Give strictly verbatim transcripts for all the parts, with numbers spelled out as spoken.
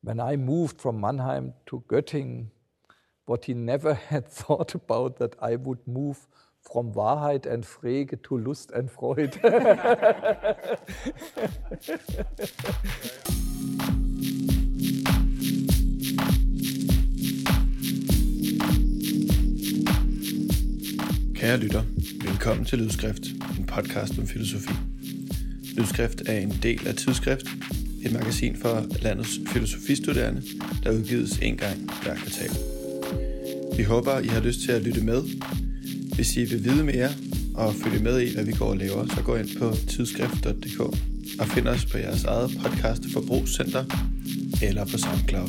when I moved from Mannheim to Göttingen, what he never had thought about, that I would move from Wahrheit and Frege to Lust and Freude. Kære lytter, velkommen til Lydskrift, en podcast om filosofi. Lydskrift er en del af Tidsskrift, et magasin for landets filosofistuderende, der udgives en gang hver kvartal. Vi håber, I har lyst til at lytte med. Hvis I vil vide mere og følge med i, hvad vi går og laver, så gå ind på tidsskrift punktum d k og find os på jeres eget podcast forbrugscenter eller på SoundCloud.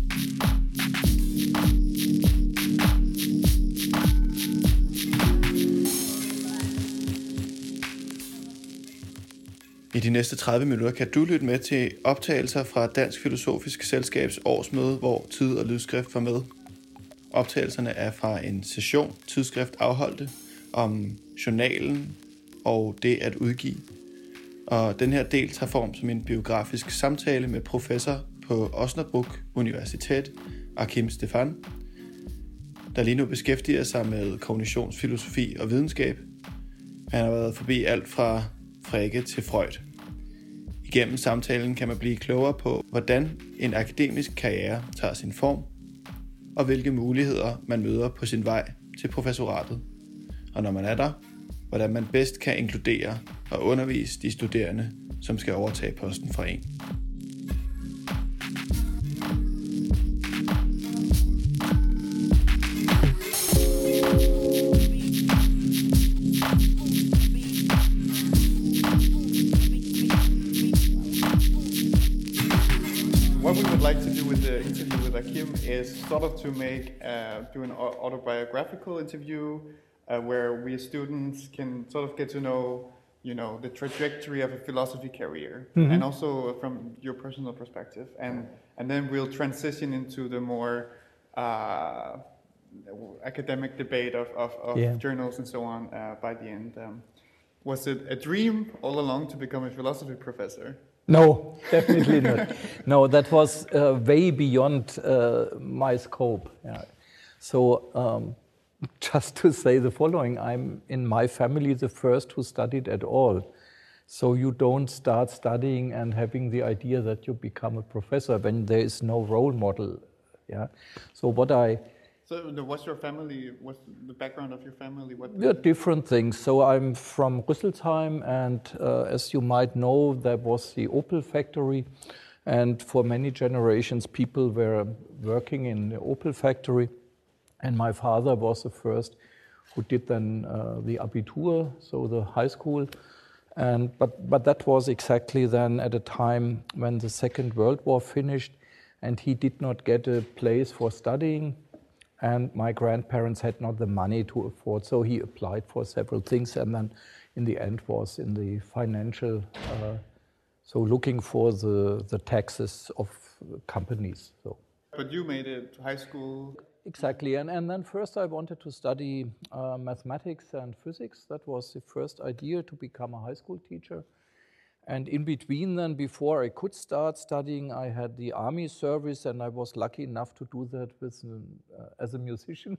I de næste tredive minutter kan du lytte med til optagelser fra Dansk Filosofisk Selskabs årsmøde, hvor Tid og Lydskrift var med. Optagelserne er fra en session, Tidsskrift afholdte, om journalen og det at udgive. Og den her del tager form som en biografisk samtale med professor på Osnabrück Universitet, Achim Stephan, der lige nu beskæftiger sig med kognitionsfilosofi og videnskab. Han har været forbi alt fra Frege til Freud. Igennem samtalen kan man blive klogere på, hvordan en akademisk karriere tager sin form, og hvilke muligheder man møder på sin vej til professoratet. Og når man er der, hvordan man bedst kan inkludere og undervise de studerende, som skal overtage posten fra en. What we would like to do with the interview with Achim is sort of to make, uh, do an autobiographical interview uh, where we as students can sort of get to know, you know, the trajectory of a philosophy career, mm-hmm. and also from your personal perspective. And and then we'll transition into the more uh, academic debate of, of, of yeah. journals and so on uh, by the end. Um, was it a dream all along to become a philosophy professor? No, definitely not. No, that was uh, way beyond uh, my scope. Yeah. So, um, just to say the following, I'm in my family the first who studied at all. So you don't start studying and having the idea that you become a professor when there is no role model. Yeah. So what I So what's your family, what's the background of your family? What yeah, different things. So I'm from Rüsselsheim, and uh, as you might know, there was the Opel factory, and for many generations people were working in the Opel factory, and my father was the first who did then uh, the Abitur, so the high school, and but but that was exactly then at a time when the Second World War finished, and he did not get a place for studying. And my grandparents had not the money to afford, so he applied for several things, and then in the end was in the financial, uh, so looking for the, the taxes of companies. So. But you made it to high school? Exactly, and, and then first I wanted to study uh, mathematics and physics. That was the first idea, to become a high school teacher. And in between then, before I could start studying, I had the army service, and I was lucky enough to do that with uh, as a musician.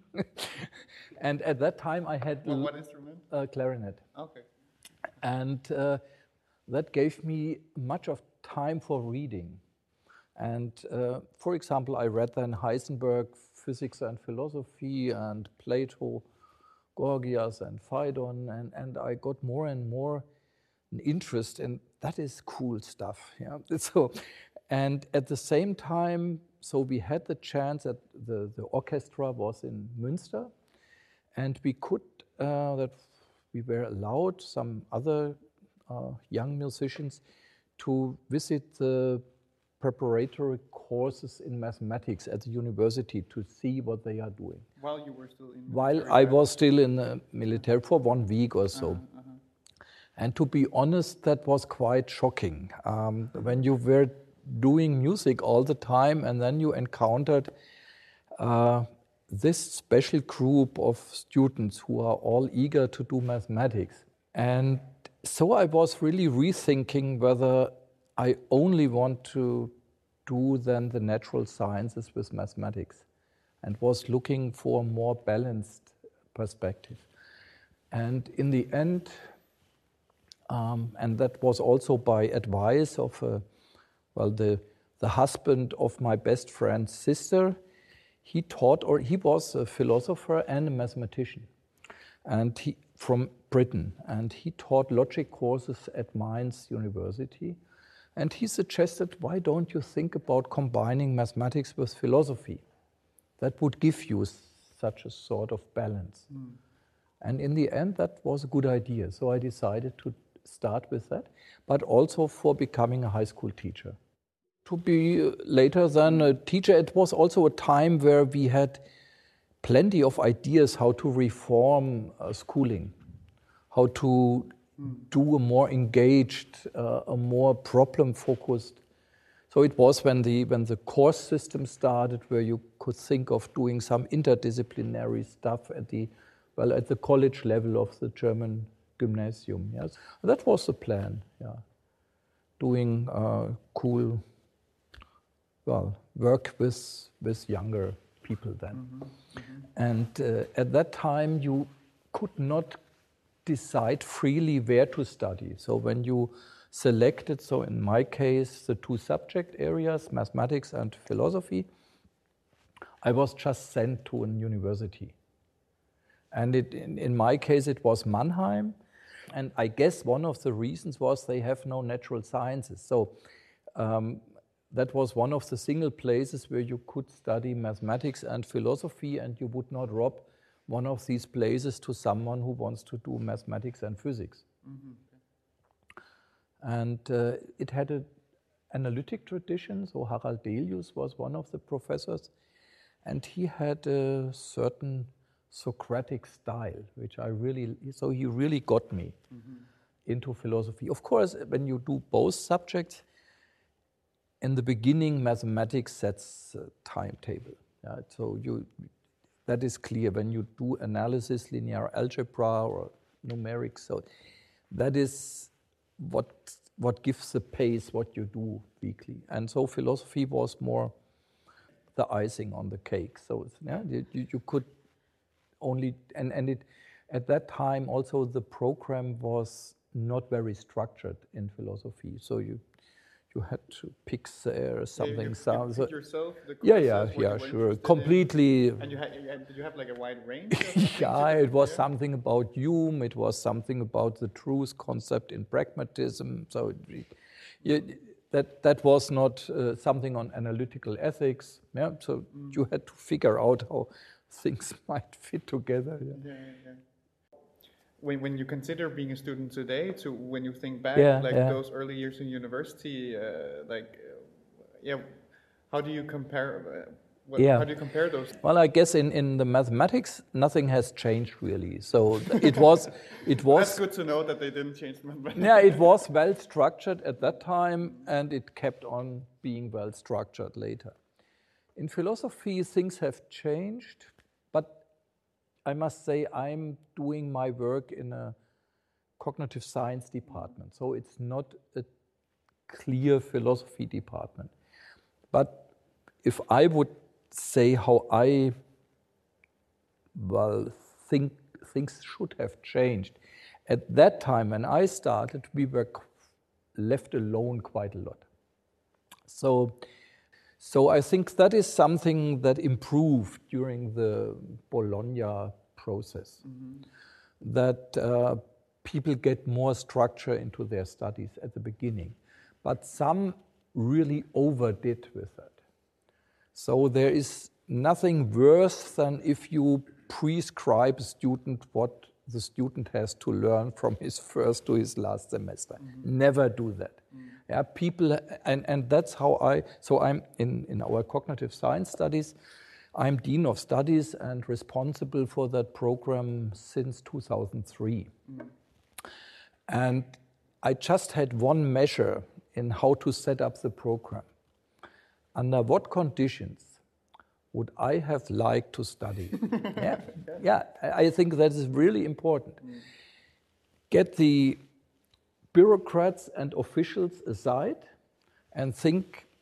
And at that time I had... Well, what instrument? Uh, clarinet. Okay. And uh, that gave me much of time for reading. And uh, for example, I read then Heisenberg, Physics and Philosophy, and Plato, Gorgias and Phaedon, and, and I got more and more an interest in that is cool stuff. Yeah. So, and at the same time, so we had the chance that the, the orchestra was in Münster, and we could uh, that we were allowed, some other uh, young musicians, to visit the preparatory courses in mathematics at the university to see what they are doing. While you were still in While I was still in the military for one week or so. Uh-huh, uh-huh. And to be honest, that was quite shocking. Um, when you were doing music all the time and then you encountered uh, this special group of students who are all eager to do mathematics. And so I was really rethinking whether I only want to do then the natural sciences with mathematics, and was looking for a more balanced perspective. And in the end, um, and that was also by advice of, uh, well, the, the husband of my best friend's sister. He taught, or he was a philosopher and a mathematician, and he from Britain, and he taught logic courses at Mainz University. And he suggested, why don't you think about combining mathematics with philosophy? That would give you such a sort of balance. Mm. And in the end, that was a good idea. So I decided to start with that, but also for becoming a high school teacher. To be later than a teacher, it was also a time where we had plenty of ideas how to reform uh, schooling, how to do a more engaged, uh, a more problem-focused. So it was when the when the course system started, where you could think of doing some interdisciplinary stuff at the well at the college level of the German gymnasium. Yes, that was the plan. Yeah, doing uh, cool, well, work with with younger people then, mm-hmm. Mm-hmm. and uh, at that time you could not decide freely where to study. So when you selected, so in my case, the two subject areas, mathematics and philosophy, I was just sent to a university. And it, in, in my case, it was Mannheim. And I guess one of the reasons was they have no natural sciences. So um, that was one of the single places where you could study mathematics and philosophy, and you would not rob one of these places to someone who wants to do mathematics and physics. Mm-hmm. And uh, it had an analytic tradition, so Harald Delius was one of the professors, and he had a certain Socratic style, which I really, so he really got me mm-hmm. into philosophy. Of course, when you do both subjects, in the beginning, mathematics sets a timetable. Yeah? So you, that is clear when you do analysis, linear algebra, or numerics. So that is what what gives the pace what you do weekly. And so philosophy was more the icing on the cake. So yeah, you, you could only and and it at that time also the program was not very structured in philosophy. So you. You had to pick uh, something. Yeah, you, some, you so, yourself, the yeah, yeah, yeah, sure. Completely. In. And you had, you had, did you have like a wide range? Yeah, it was yeah? something about Hume. It was something about the truth concept in pragmatism. So it, it, that that was not uh, something on analytical ethics. Yeah, so mm. you had to figure out how things might fit together. Yeah. Yeah, yeah. When when you consider being a student today, to when you think back, yeah, like yeah. those early years in university, uh, like, uh, yeah, how do you compare? Uh, what, yeah. How do you compare those? Well, I guess in, in the mathematics, nothing has changed really. So it was, it was. That's good to know that they didn't change mathematics. Yeah, it was well structured at that time, and it kept on being well structured later. In philosophy, things have changed, but I must say I'm doing my work in a cognitive science department, so it's not a clear philosophy department. But if I would say how I, well, think things should have changed, at that time when I started, we were left alone quite a lot. So, so I think that is something that improved during the Bologna process, mm-hmm. that uh, people get more structure into their studies at the beginning, but some really overdid with that. So there is nothing worse than if you prescribe a student what the student has to learn from his first to his last semester. Mm-hmm. Never do that. Mm-hmm. Yeah, people, and, and that's how I, so I'm in, in our cognitive science studies, I'm Dean of Studies and responsible for that program since two thousand three. Mm-hmm. And I just had one measure in how to set up the program. Under what conditions would I have liked to study? yeah, yeah, I think that is really important. Mm. Get the bureaucrats and officials aside and think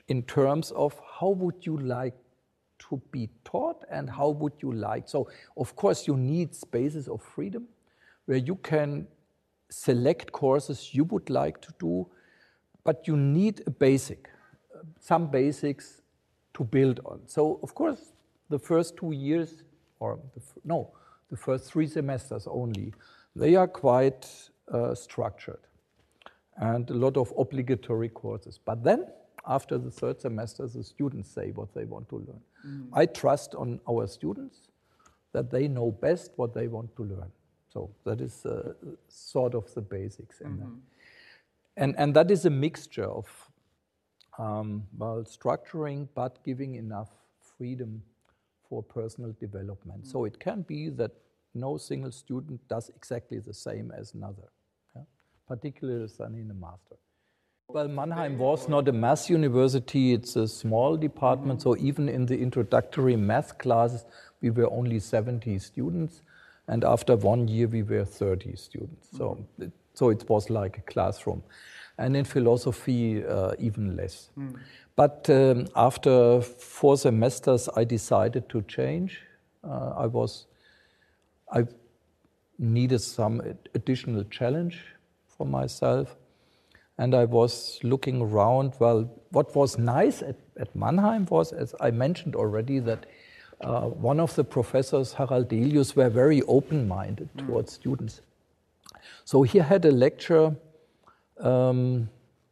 in terms of how would you like to be taught and how would you like. So, of course, you need spaces of freedom where you can select courses you would like to do, but you need a basic, some basics to build on. So, of course, the first two years, or the, no, the first three semesters only, they are quite uh, structured and a lot of obligatory courses. But then, after the third semester, the students say what they want to learn. Mm. I trust on our students that they know best what they want to learn. So that is uh, sort of the basics in mm-hmm. that. And, and that is a mixture of um, well, structuring, but giving enough freedom for personal development. Mm. So it can be that no single student does exactly the same as another, yeah? Particularly in a master. Well, Mannheim was not a math university, it's a small department, mm-hmm. so even in the introductory math classes, we were only seventy students, and after one year we were thirty students. Mm-hmm. So, it, so it was like a classroom. And in philosophy, uh, even less. Mm. But um, after four semesters, I decided to change. Uh, I was, I needed some additional challenge for myself. And I was looking around. Well, what was nice at, at Mannheim was, as I mentioned already, that uh, one of the professors, Harald Delius, were very open-minded mm. towards students. So he had a lecture, um,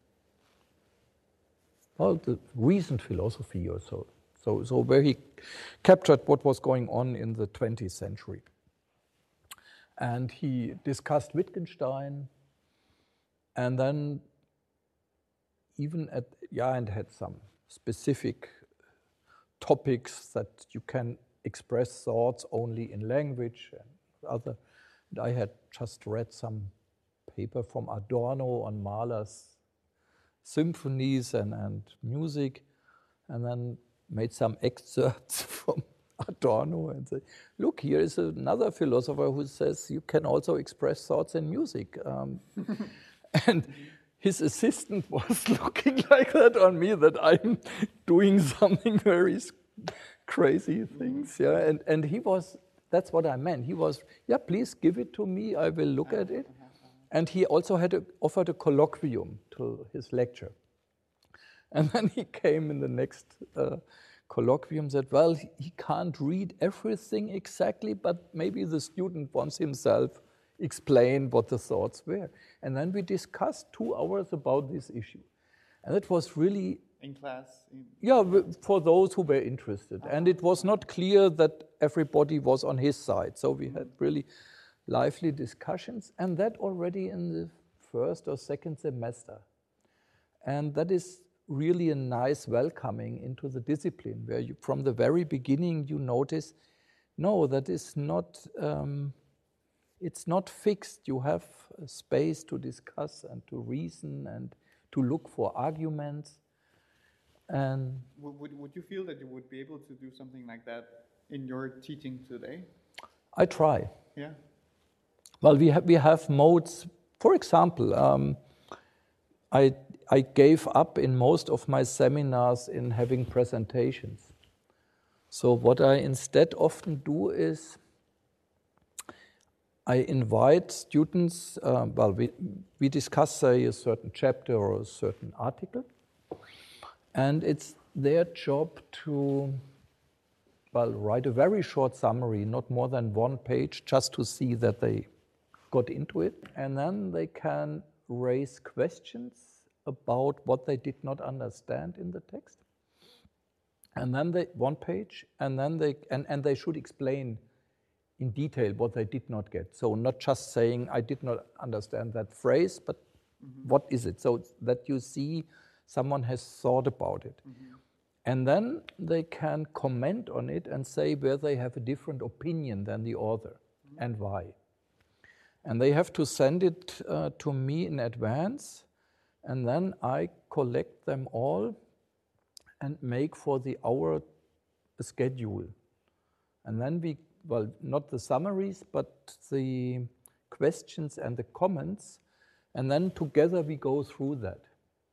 well, the recent philosophy or so, so, so where he captured what was going on in the twentieth century. And he discussed Wittgenstein, and then even at, yeah, and had some specific topics that you can express thoughts only in language and other. And I had just read some paper from Adorno on Mahler's symphonies and, and music, and then made some excerpts from Adorno and say, look, here is another philosopher who says you can also express thoughts in music. Um, and his assistant was looking like that on me, that I'm doing something very crazy things, yeah. And and he was, that's what I meant. He was, yeah, please give it to me, I will look at it. And he also had a, offered a colloquium to his lecture. And then he came in the next uh, colloquium, said, well, he can't read everything exactly, but maybe the student wants himself explain what the thoughts were. And then we discussed two hours about this issue. And it was really... In class? In yeah, for those who were interested. Uh-huh. And it was not clear that everybody was on his side. So we had really lively discussions, and that already in the first or second semester. And that is really a nice welcoming into the discipline, where you, from the very beginning, you notice, no, that is not... Um, It's not fixed. You have a space to discuss and to reason and to look for arguments. And would, would you feel that you would be able to do something like that in your teaching today? I try. Yeah. Well, we have we have modes. For example, um, I I gave up in most of my seminars in having presentations. So what I instead often do is, I invite students, uh, well, we, we discuss, say, a certain chapter or a certain article, and it's their job to, well, write a very short summary, not more than one page, just to see that they got into it, and then they can raise questions about what they did not understand in the text, and then they, one page, and then they, and, and they should explain in detail what they did not get. So not just saying, I did not understand that phrase, but mm-hmm. what is it? So that you see someone has thought about it. Mm-hmm. And then they can comment on it and say where they have a different opinion than the author mm-hmm. and why. And they have to send it uh, to me in advance, and then I collect them all and make for the hour a schedule. And then we well, not the summaries, but the questions and the comments, and then together we go through that.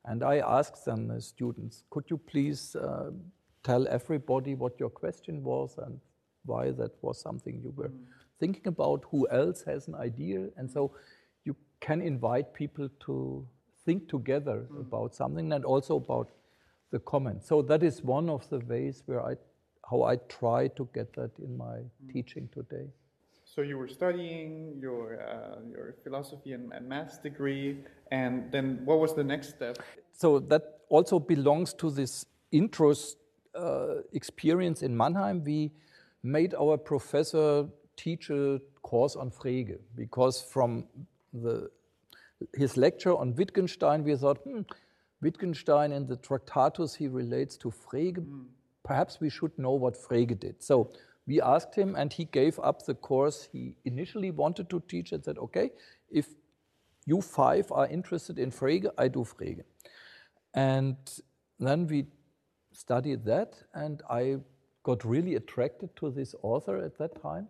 And I asked them, the students, could you please uh, tell everybody what your question was and why that was something you were mm. thinking about, who else has an idea? And so you can invite people to think together mm. about something and also about the comments. So that is one of the ways where I, how I try to get that in my mm. teaching today. So you were studying your uh, your philosophy and, and maths degree, and then what was the next step? So that also belongs to this intro uh, experience in Mannheim. We made our professor teach a course on Frege, because from the his lecture on Wittgenstein, we thought, hmm, Wittgenstein in the Tractatus, he relates to Frege. Mm. Perhaps we should know what Frege did. So we asked him, and he gave up the course he initially wanted to teach and said, okay, if you five are interested in Frege, I do Frege. And then we studied that, and I got really attracted to this author at that time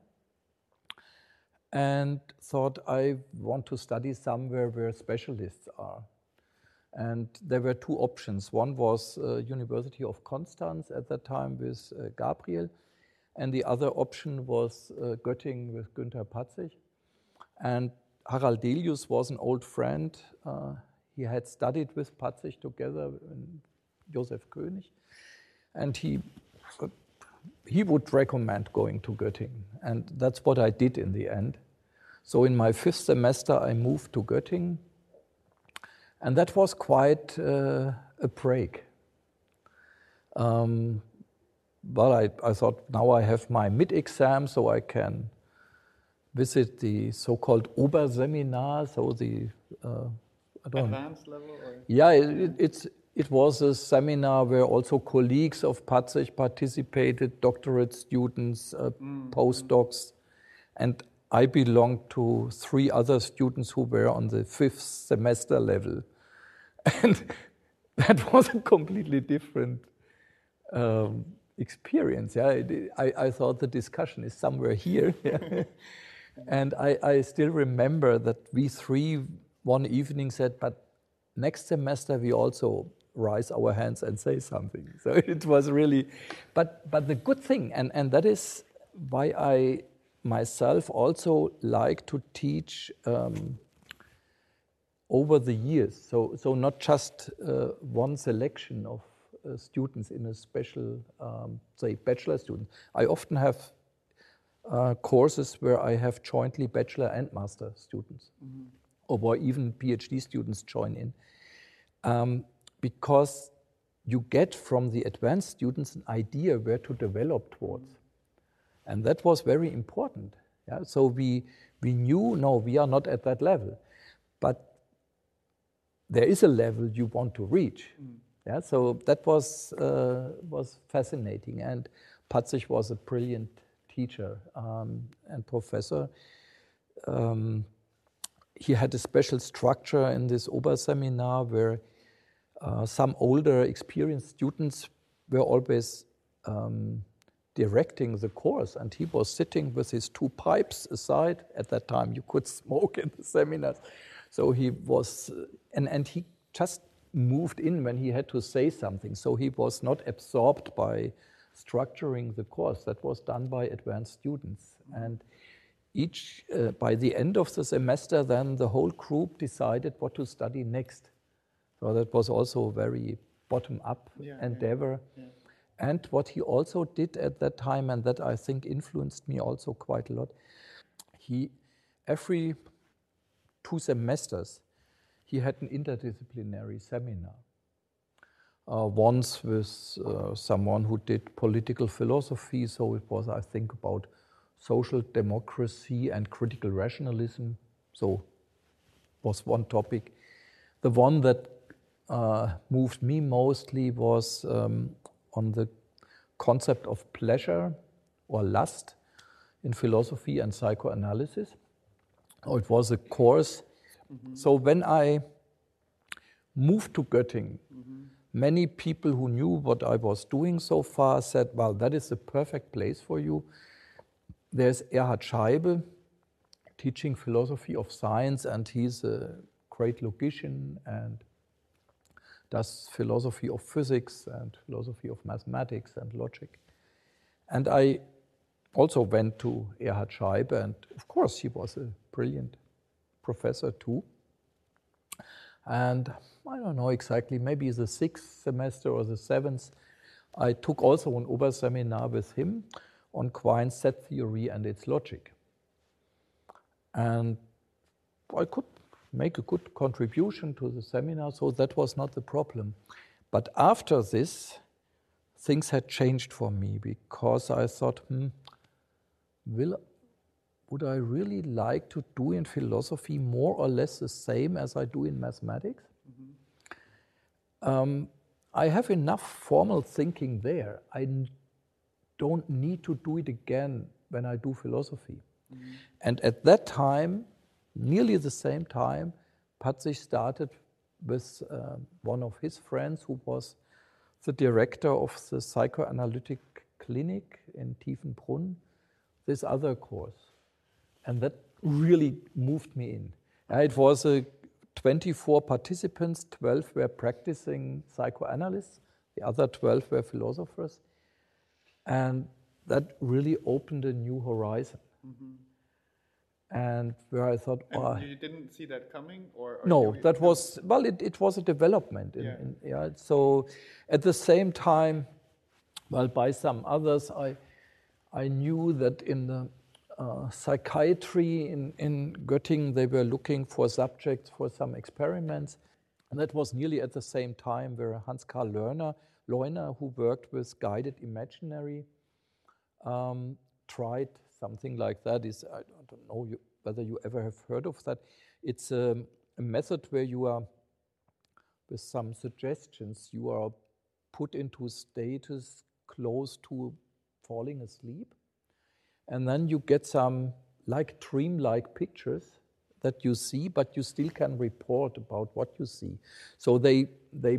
and thought I want to study somewhere where specialists are. And there were two options. One was uh, University of Constance at that time with uh, Gabriel, and the other option was uh, Göttingen with Günther Patzig. And Harald Delius was an old friend. Uh, he had studied with Patzig together in Josef König. And he, uh, he would recommend going to Göttingen. And that's what I did in the end. So in my fifth semester, I moved to Göttingen. And that was quite uh, a break. Um, But I, I thought, now I have my mid-exam, so I can visit the so-called Oberseminar, so the uh, I don't advanced level. Or? Yeah, it, it's it was a seminar where also colleagues of Patzig participated, doctorate students, uh, mm. postdocs, and I belonged to three other students who were on the fifth semester level, and that was a completely different Um, experience. Yeah, I, I thought the discussion is somewhere here. Yeah. And I, I still remember that we three one evening said, but next semester we also raise our hands and say something. So it was really, but but the good thing, and, and that is why I myself also like to teach um, over the years. So, so not just uh, one selection of Uh, students in a special, um, say, bachelor student. I often have uh, courses where I have jointly bachelor and master students, mm-hmm. or where even PhD students join in, um, because you get from the advanced students an idea where to develop towards. Mm-hmm. And that was very important. Yeah? So we, we knew, no, we are not at that level, but there is a level you want to reach. Mm. Yeah, so that was uh, was fascinating, and Patzig was a brilliant teacher um, and professor. Um, he had a special structure in this Oberseminar where uh, some older, experienced students were always um, directing the course, and he was sitting with his two pipes aside. At that time, you could smoke in the seminars, so he was, and and he just moved in when he had to say something. So he was not absorbed by structuring the course. That was done by advanced students. And each, uh, by the end of the semester, then the whole group decided what to study next. So that was also a very bottom-up yeah, endeavor. Yeah, yeah. And what he also did at that time, and that I think influenced me also quite a lot, he, every two semesters, he had an interdisciplinary seminar. Uh, once with uh, someone who did political philosophy, so it was, I think, about social democracy and critical rationalism, so was one topic. The one that uh, moved me mostly was um, on the concept of pleasure or lust in philosophy and psychoanalysis. Oh, it was a course. Mm-hmm. So when I moved to Göttingen, mm-hmm. many people who knew what I was doing so far said, well, that is the perfect place for you. There's Erhard Scheibe teaching philosophy of science, and he's a great logician and does philosophy of physics and philosophy of mathematics and logic. And I also went to Erhard Scheibe, and of course he was a brilliant professor too. And I don't know exactly, maybe the sixth semester or the seventh, I took also an Oberseminar with him on Quine's set theory and its logic. And I could make a good contribution to the seminar, so that was not the problem. But after this, things had changed for me, because I thought, hmm, will, would I really like to do in philosophy more or less the same as I do in mathematics? Mm-hmm. um, I have enough formal thinking there. I n- don't need to do it again when I do philosophy. Mm-hmm. And at that time, nearly the same time, Patzig started with uh, one of his friends who was the director of the psychoanalytic clinic in Tiefenbrunn, this other course. And that really moved me in. Uh, it was a twenty-four participants, twelve were practicing psychoanalysts, the other twelve were philosophers. And that really opened a new horizon. Mm-hmm. And where I thought, and oh, you didn't see that coming, or, or no, you, that was well. It, it was a development. In, yeah. In, yeah. So, at the same time, well, by some others, I I knew that in the uh, psychiatry in in Göttingen they were looking for subjects for some experiments, and that was nearly at the same time where Hans Karl Lerner, Leuner, who worked with guided imaginary, um, tried something like that. Is I don't know you, whether you ever have heard of that. It's a, a method where you are, with some suggestions, you are put into status close to falling asleep, and then you get some like dream-like pictures that you see, but you still can report about what you see. So they they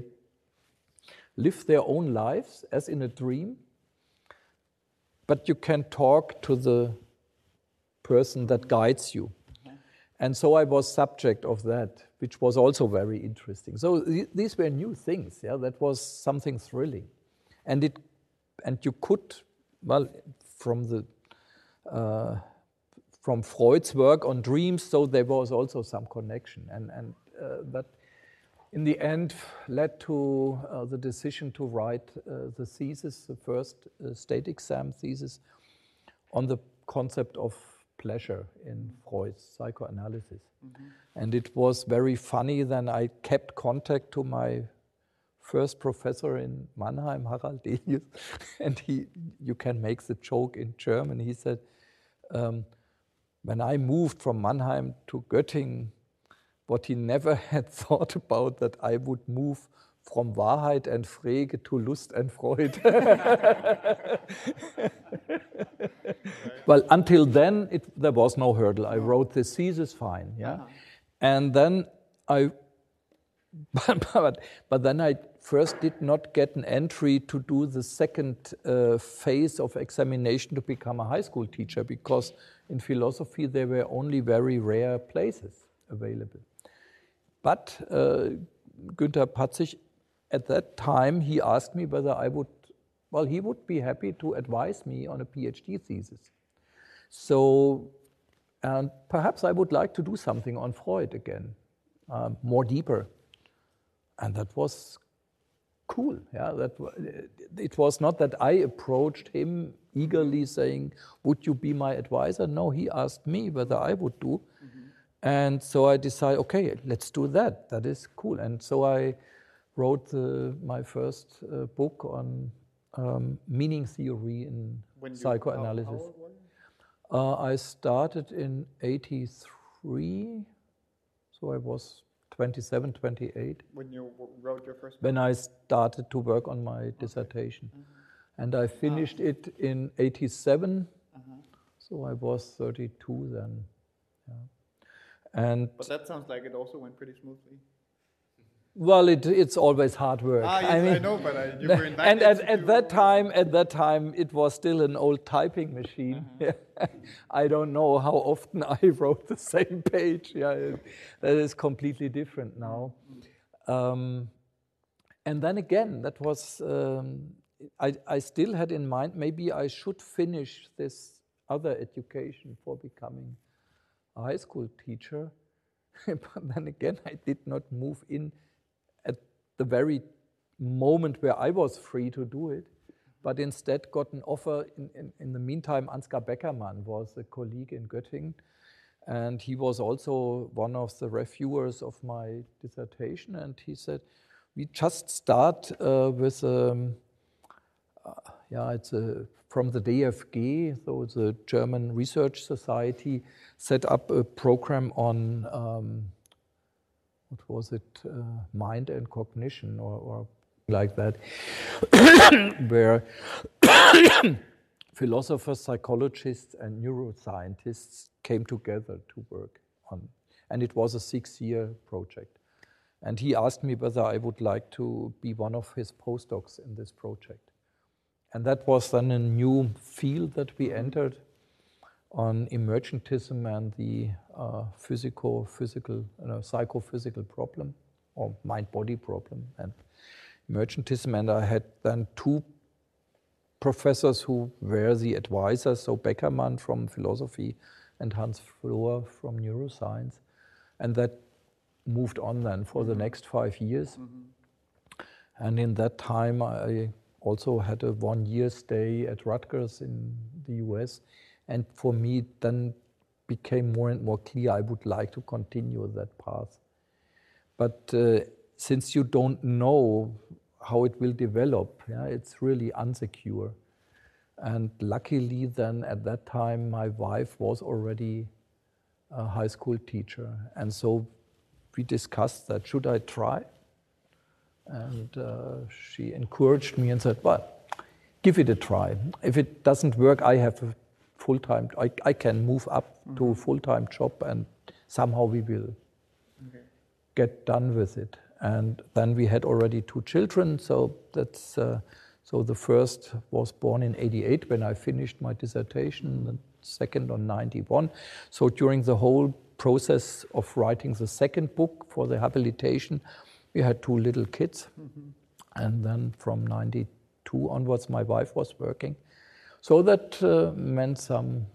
live their own lives as in a dream, but you can talk to the person that guides you. Mm-hmm. And so I was subject of that, which was also very interesting. So th- these were new things, yeah, that was something thrilling. And it, and you could, well, from the, uh, from Freud's work on dreams, so there was also some connection. And, and uh, that in the end led to uh, the decision to write uh, the thesis, the first uh, state exam thesis, on the concept of pleasure in Freud's psychoanalysis. Mm-hmm. And it was very funny. Then I kept contact to my first professor in Mannheim, Harald Delius, and he, you can make the joke in German. He said, um, when I moved from Mannheim to Göttingen, what he never had thought about, that I would move from Wahrheit and Frege to Lust and Freud. Well, until then, it, there was no hurdle. I wrote the thesis fine, yeah? Uh-huh. And then I, but, but, but then I first did not get an entry to do the second uh, phase of examination to become a high school teacher, because in philosophy there were only very rare places available. But uh, Günther Patzig, at that time, he asked me whether I would, well, he would be happy to advise me on a PhD thesis. So, and perhaps I would like to do something on Freud again, uh, more deeper. And that was cool. Yeah, that it was not that I approached him eagerly saying, would you be my advisor? No, he asked me whether I would do. Mm-hmm. And so I decided, okay, let's do that. That is cool. And so I wrote uh, my first uh, book on um, meaning theory in when psychoanalysis. You, how, how old were you? Uh, I started in eighty-three, so I was twenty-seven, twenty-eight. When you wrote your first book? When I started to work on my dissertation. Okay. Mm-hmm. And I finished ah. it in eighty-seven, uh-huh. So I was thirty-two then. Yeah. And but that sounds like it also went pretty smoothly. Well, it, it's always hard work. Ah, yes, I, mean, I know, but I, you were in that. And at, at that time, at that time, it was still an old typing machine. Uh-huh. I don't know how often I wrote the same page. Yeah, it, that is completely different now. Mm-hmm. Um, and then again, that was, um, I, I still had in mind, maybe I should finish this other education for becoming a high school teacher. But then again, I did not move in at the very moment where I was free to do it, but instead got an offer. In, in, in the meantime, Ansgar Beckermann was a colleague in Göttingen, and he was also one of the reviewers of my dissertation, and he said, we just start uh, with, um, uh, yeah, it's a, from the D F G, so the German Research Society, set up a program on, um, what was it, uh, mind and cognition, or, or like that, where philosophers, psychologists, and neuroscientists came together to work on, and it was a six-year project. And he asked me whether I would like to be one of his postdocs in this project. And that was then a new field that we entered on emergentism and the uh, physical, physical, you know, psychophysical problem, or mind-body problem, and emergentism. And I had then two professors who were the advisors, so Beckermann from philosophy and Hans Flohr from neuroscience. And that moved on then for mm-hmm. the next five years. Mm-hmm. And in that time, I also had a one-year stay at Rutgers in the U S. And for me, it then became more and more clear I would like to continue that path. But uh, since you don't know how it will develop, yeah, it's really unsecure. And luckily then at that time, my wife was already a high school teacher. And so we discussed that, should I try? And uh, she encouraged me and said, well, give it a try. If it doesn't work, I have a full-time, I, I can move up mm-hmm. to a full-time job, and somehow we will okay. get done with it. And then we had already two children, so that's uh, so the first was born in eighty-eight when I finished my dissertation, the second on ninety-one. So during the whole process of writing the second book for the habilitation, we had two little kids. Mm-hmm. And then from ninety-two onwards, my wife was working. So that uh, meant some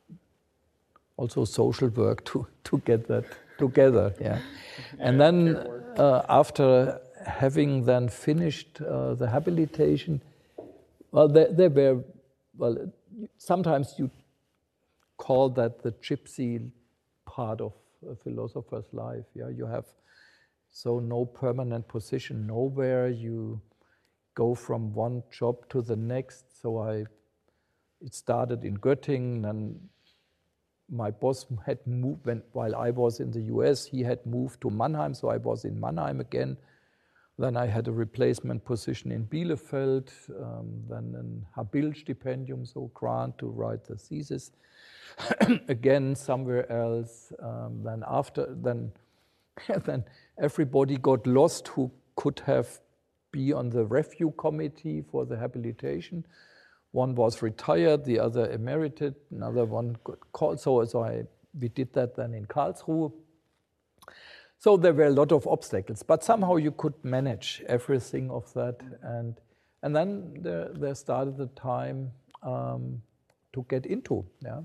also social work to, to get that together. Yeah. And then uh, after having then finished uh, the habilitation, well, there, there were, well, sometimes you call that the gypsy part of a philosopher's life. Yeah, you have so no permanent position nowhere. You go from one job to the next. So I, it started in Göttingen, and my boss had moved, when, while I was in the U S, he had moved to Mannheim, so I was in Mannheim again. Then I had a replacement position in Bielefeld, um, then an Habil-Stipendium, so grant to write the thesis. Again, somewhere else. Um, then after, then, then everybody got lost who could have be on the review committee for the habilitation. One was retired, the other emerited, another one got called. So, so I, we did that then in Karlsruhe. So there were a lot of obstacles, but somehow you could manage everything of that. And, and then there, there started the time um, to get into. Yeah?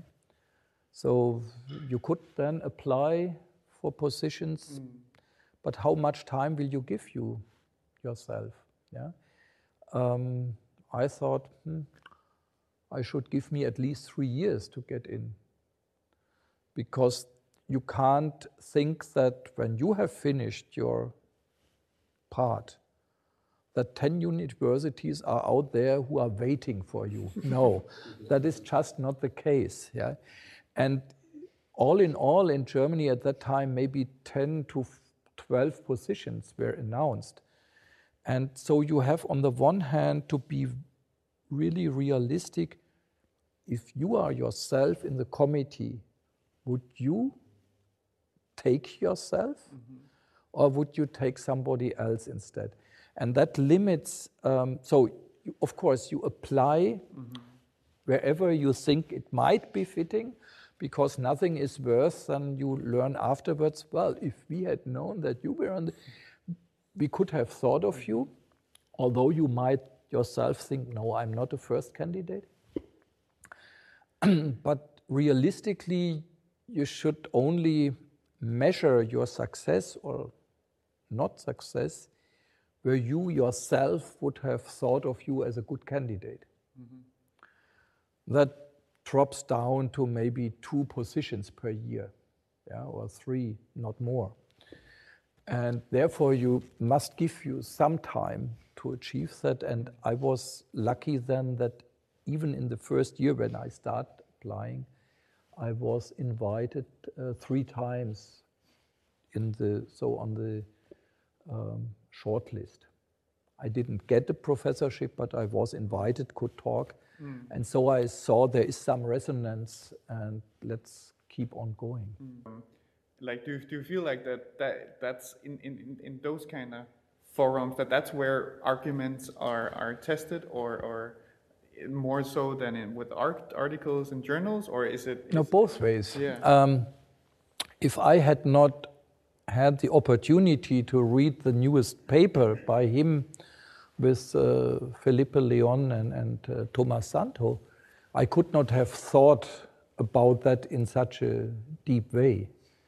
So you could then apply for positions, mm. but how much time will you give you yourself? Yeah. Um, I thought, hmm, I should give me at least three years to get in, because you can't think that when you have finished your part, that ten universities are out there who are waiting for you. No, that is just not the case. Yeah, and all in all, in Germany at that time, maybe ten to twelve positions were announced. And so you have, on the one hand, to be really realistic. If you are yourself in the committee, would you take yourself, mm-hmm. or would you take somebody else instead? And that limits, um, so you, of course you apply mm-hmm. wherever you think it might be fitting, because nothing is worse than you learn afterwards, well, if we had known that you were on the, we could have thought of you, although you might yourself think, no, I'm not a first candidate, but realistically, you should only measure your success or not success where you yourself would have thought of you as a good candidate. Mm-hmm. That drops down to maybe two positions per year, yeah, or three, not more. And therefore, you must give you some time to achieve that. And I was lucky then that even in the first year when I started applying, I was invited uh, three times in the so on the um, short list. I didn't get the professorship, but I was invited, could talk. Mm. And so I saw there is some resonance, and let's keep on going. Mm. Like, do, do you feel like that, that that's in, in, in those kind of forums, that that's where arguments are, are tested, or, or more so than in with art, articles and journals, or is it? Is no, both ways. Yeah. Um, if I had not had the opportunity to read the newest paper by him with uh, Felipe Leon and, and uh, Thomas Santo, I could not have thought about that in such a deep way.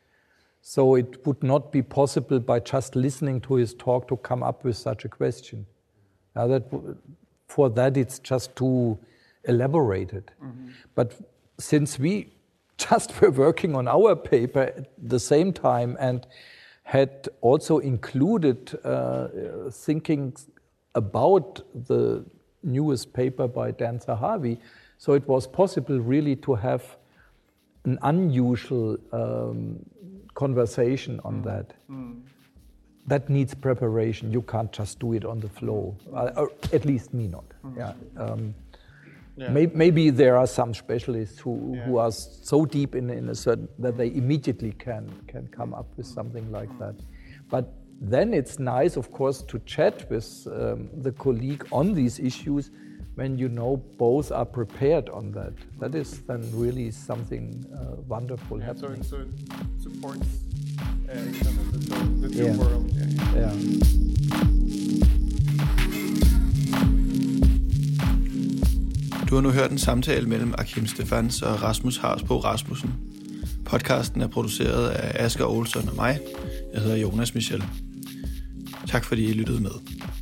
So it would not be possible by just listening to his talk to come up with such a question. Now that for that it's just too elaborated. Mm-hmm. But since we just were working on our paper at the same time and had also included uh, thinking about the newest paper by Dan Zahavi, so it was possible really to have an unusual um, conversation on mm. that. Mm. That needs preparation. You can't just do it on the flow, uh, or at least me not. Mm. Yeah. Um, yeah. May, maybe there are some specialists who, yeah. who are so deep in, in a certain that they immediately can can come up with something like mm. that. But then it's nice, of course, to chat with um, the colleague on these issues when you know both are prepared on that. That is then really something uh, wonderful yeah, happening. So it, so it supports uh, each other, the, the two yeah. worlds. Yeah, yeah. yeah. Du har nu hørt en samtale mellem Akim Stephans og Rasmus Harsbo Rasmussen. Podcasten er produceret af Asger Olsson og mig. Jeg hedder Jonas Michel. Tak fordi I lyttede med.